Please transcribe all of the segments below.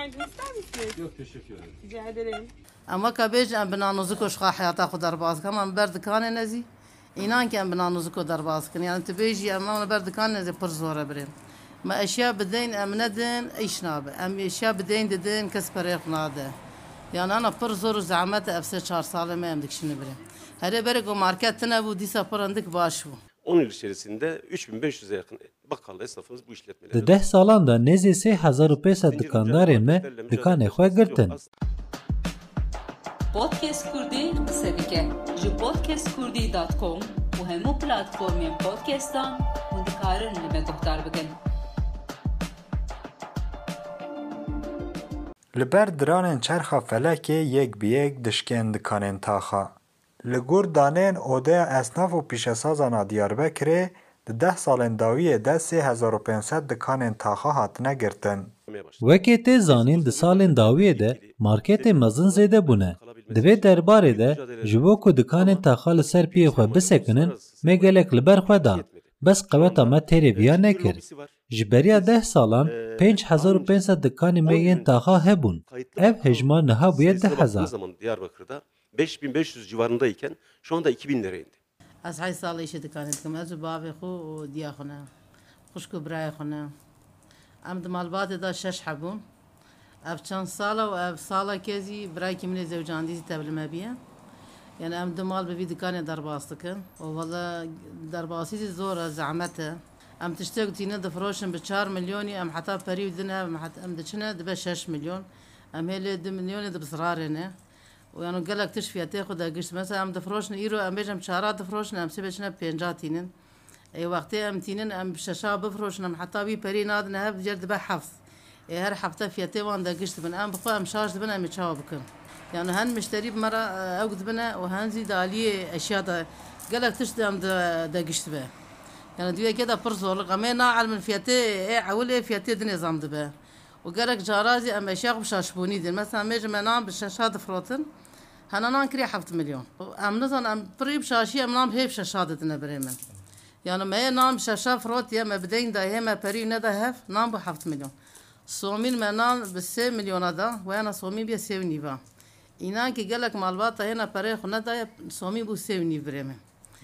Günaydın, ister misiniz? Yok teşekkür ederim. Rica ederim. اما کبیج ام بنانوزی کو شخا حیاتا خود در باز کنم ام بر دکان نزی اینان که ام بنانوزی کو در باز کنم یعنی تبیجی ام بر دکان نزی پر زوره بریم ما اشیاء بدین ام ندین ایش نابه ام اشیاء بدین ددین کس پریخ ناده yani ana پر زور زحمت افسه 4 ساله mi em dikşini بریم هر بره کو market ne bu disa parandık baş bu 10 yıl içerisinde 3500'e yakın bakkal esnafımız bu işletmeleri. Di 10 salan da nezî 3500 dikandarên me dikanê xwe girtin. Podcast Kurdî qise dike ji podcastkurdî.com û hemû platformên podcastan hûn dikarin li me guhdar bikin. Li ber diranên çerxa felekê yek bi yek dişkên dikanên taxa. Li gor danên Odeya Esnaf û Pîşesazan a Diyarbekirê di 10 salên dawiyê de 3500 dikanên taxa hatine girtin. Wekê tê zanîn di salên dawiyê de marketên mezin zêde bûne. Di vê derbarê de ji bo ku dikanên taxa li ser piyê xwe bisekinin me gelek li ber xwe da. Bes qeweta me têrê viya nekir. Ji beriya 10 salan 5500 dikanê me yên taxa hebûn. Ev hejma niha bûye 10,000. Diyarbakır'da 5500 civarındayken şu anda 2000 liraya indi. از 8 سال ایش دکان دکم از باب خو و دیا خونه خوشکو برای خونه ام دمالبات دا 6 حبون اف چند ساله و اف ساله کزی برای کمینه زوجاندیزی تبلمه بیه yani em demal bir dükkanı darbastıkın. O valla darbasıydı zor zahmete. Em tiştek tine de froşun bir 4 milyon em hatta peri dine em de çine de 5 milyon. Em hele 2 milyon de bısrarene. و یعنی گلک تش فیاته خود گشت مثلا ام دفروشن ایرو ام بجم 4 دفروشن ام سه بچنه 50 تینن ای وقتی ام تینن ام ششا بفروشن ام حتی بی پری ناد نه جرد به حفظ ای هر هفته فیاته وان دا گشت بن ام بخو ام شارج بن ام چاو بکن yani هن مشتری بمره اوقد بنا و هن زید علی اشیاء دا گلک تش ام دا گشت به yani diyor ki da پر zorluk ama na علم fiyatı awle fiyatı de nizam de be وقالك جارازي ام اشياء بشاشبوني دي مثلا ميجي منام بالشاشات فروتن هنان كري 7 مليون ام نزن ام بريب شاشي ام نام هيف شاشات دنا بريمن يعني ما نام شاشا فروت يا ما بدين دا هما بري ندا هف نام ب 7 مليون صومين منان ب 3 مليون دا وانا صومين بي 7 نيفا inan ki gelek malbata hena pare xuna da somi bu sevni بريمن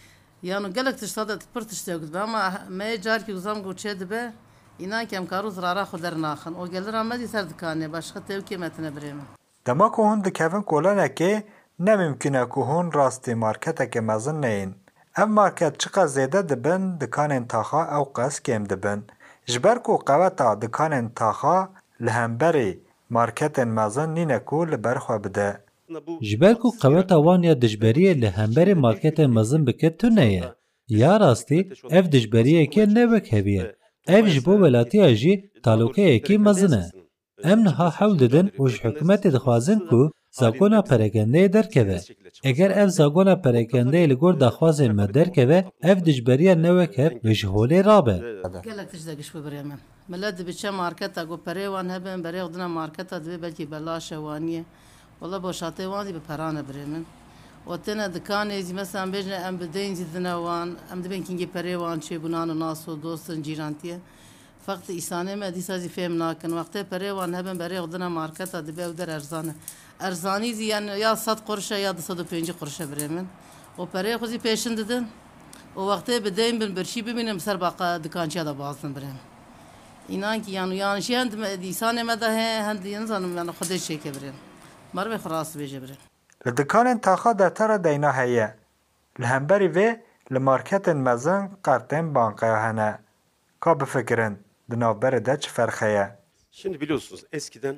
yani gelek tiştada per tiştagud ama me jar ki uzam goçed be inan ki am karu zarara xudar naxın o gelir amadi ser dikane başka tevkimetine بريمن Dema ku hûn dikevin kolanekê ne mümkün e ku hûn rastî marketekê mezin neyin. Ev market çiqa zêde dibin dikanên taxa ew qas kêm dibin. Ji ber ku qeweta dikanên taxa li hemberî marketên mezin nîne ku li ber xwe bide. Ji ber ku qeweta wan ya dijberiyê li hemberê marketên mezin bike tune ye. Ya rastî ev dijberiyekê ne wek heviye. Ev ji bo welatiya jî talokeyekî mezin e. Em niha hewl didin û ji hikûmetê dixwazin ku zagona perekendeyê derkeve. Eger ev zagona perekendeyê li gor daxwazên me derkeve, ev dijberiya ne wek hev ve ji holê rabe. gelek tişda giş bu بريمن millet dibiçe marketa go pere wan hebin berê xudina marketa dibe belkî belaşe waniye wala boşatê wan dî bi perane بريمن o tene dikanê zî mesela bêjne em bi deyn zî dine wan em dibin kingê perê wan çê bunan û nas û dostin cîrantiye فقط ایسانه ما دیسا زی فهم ناکن وقتی پره وان هبن برای خودنا مارکتا دبی او در ارزانه ارزانی زی یعنی یا 100 قرشه یا 250 قرشه بريمن و پره خودی پیشن ددن و وقتی بدیم بن برشی ببینم سر باقا دکانچیا دا بازن بريمن اینان کی yani şey hend ایسانه ما ده هند انسان yani خودش şey که بريمن مر به خلاص بیجه بريمن Li dikanên taxa deftera deyna heye. Li hemberî vê li marketên mezin qertên banqaya hene. Ka bifikirin di navberê de çi ferxeye? Şimdi biliyorsunuz eskiden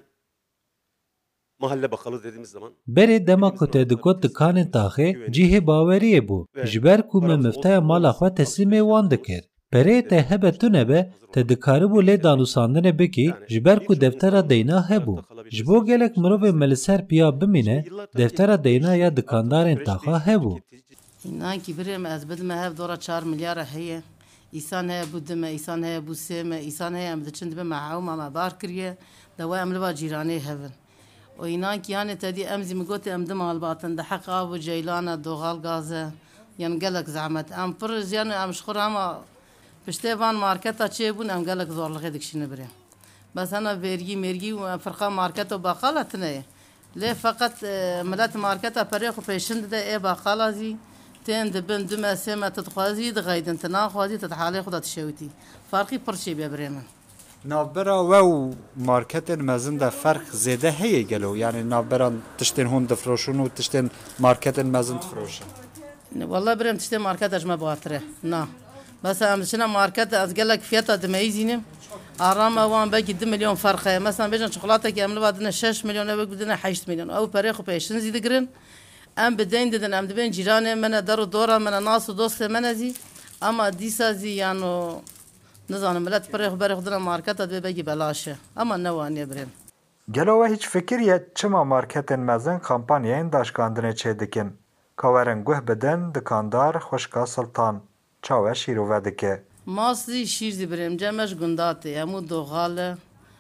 mahalle bakkalı dediğimiz zaman Berê dema ku te dikot dikanên taxê cihê baweriyê bû. Ji ber ku me mifteya mala xwe teslîmê wan dikir. Pereyê te hebe tune be, te dikaribû lê danûsandinê bikî ji ber ku deftera deyna hebû. Ji bo gelek mirovê me li ser piya bimîne, deftera deyna ya dikandarên taxa hebû. inan ki بريم ez bidime hev dora 4 milyara heye İnsan heye bu dime, insan heye bu seme, insan heye em diçin dibe mahawma ma bar kiriye dewa em li ba cîranê hevin. O inan ki yani tedî em zî migote em dim albatin de heq av û ceylana doğal gaze yani gelek zahmet. Em pir yani em ji xwe ama piştê van marketa çêbûn em gelek zorliqê dikişîne birê. بس أنا vergi mergi و فرقة ماركت و باقالة تنه ليه فقط ملات ماركتها بريق و پیشند ده اي باقالة زي تين دبن دم سيما تتخوازي دغايدن تناخوازي تتحالي خدا تشوتي فرقي پرشي ببريمن نابرا و مارکتن مزن ده فرق زیده هیه گلو یعنی نابرا تشتین هون دفروشون و تشتین مارکتن مزن تفروشن والله بريم تشتي ماركت اجمع بواتره نا بس امشنا ماركت از قالك فيتا دميزينم ارام وان باقي 2 مليون فرقه مثلا بيجن شوكولاته كامله بعدنا 6 مليون او بدنا 8 مليون او بريخ بيشن زيد قرن ام بدين ددن ام دبن جيران من دار دوره من ناس دوست من زي اما ديسا زي يعني نزان ملت بريخ دنا ماركت ده باقي بلاشه اما نواني بريم گلو هیچ فکریه چما مارکتن مزن کمپانیین داشکاندنه چه دکن کاورن گوه بدن دکاندار خوشکا سلطان چاوه شیرو دکه ماستي شيرزي بريم جمش قنداتي امو دوغاله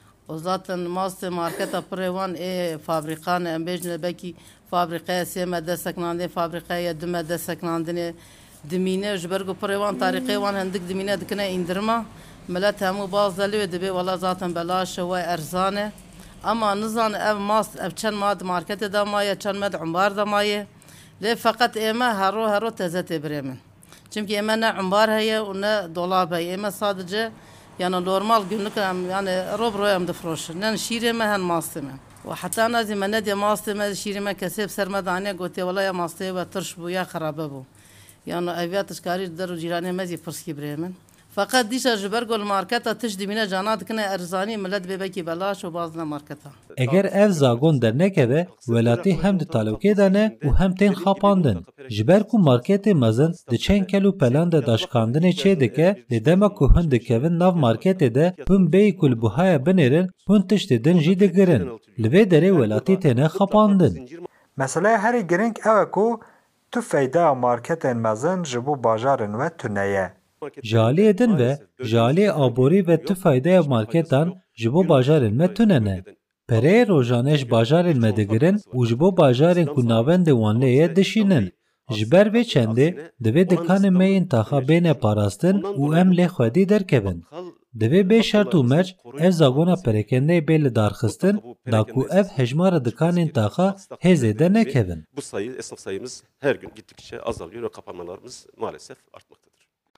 وزاتن ماستي ماركتا بريوان اي فابريقان ام بيجن بكي فابريقه سيما دسكناندي فابريقه يدما دسكناندني دمينه جبرغو بريوان طريقي وان هندك دمينه دكنا اندرما ملات همو باز دلو دبي والله زاتن بلاش و ارزانه اما نزان اف ماست اف چن ماد ماركت دا مايه چن مد عمبار دا مايه ليه فقط اما هرو تزت بريمن çünkü hemen ne ambar heye و ne dolap heye hemen sadece yani normal günlük yani rob de froşun yani şirime hen mastime ve hatta nazi men de mastime şirime kesip sermadane gote valla ya maste ve tırş bu ya kharabe bu yani aviyat skari der jirane mezi fırski bremen fakat dişa jbergol marketa tiş dimine canat kine erzani millet bebeki belaş و bazna marketa eger ev zagon dernekeve welati hem de talokê dane û hem tên xapandin ji ber ku marketê mezin di çend kel û pelan de daşkandinê çê dike lê dema ku hûn dikevin nav marketê de hûn bêyî ku li buhaya binêrin hûn tiştê din jî digirin li vê derê welatî têne xapandin Mesela herî giring ew e ku tu feyda marketên mezin ji bo bajarên we tuneye. Jaliyê din ve jaliyê aborî ve tu faydeya marketan ji bo bajarên me tunene. Pereyê rojane ji bajarên me digirin û ji bo bajarên ku navendê wan lê ye dişînin. Ji ber vê çendê divê dikanên me yên taxa bêne parastin û em lê xwedî derkevin. Divê bê şert û merc ev zagona perekendeyê bê li darxistin da ku ev hejmara dikanên taxa hêzê de nekevin. Bu sayı, esnaf sayımız her gün gittikçe azalıyor ve kapanmalarımız maalesef artmaktadır.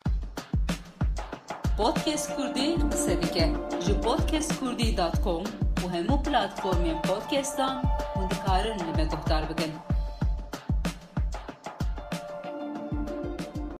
Podcast Kurdi qise dike ji podcastkurdi.com û hemû platformên podcastan hûn dikarin li me guhdar bikin.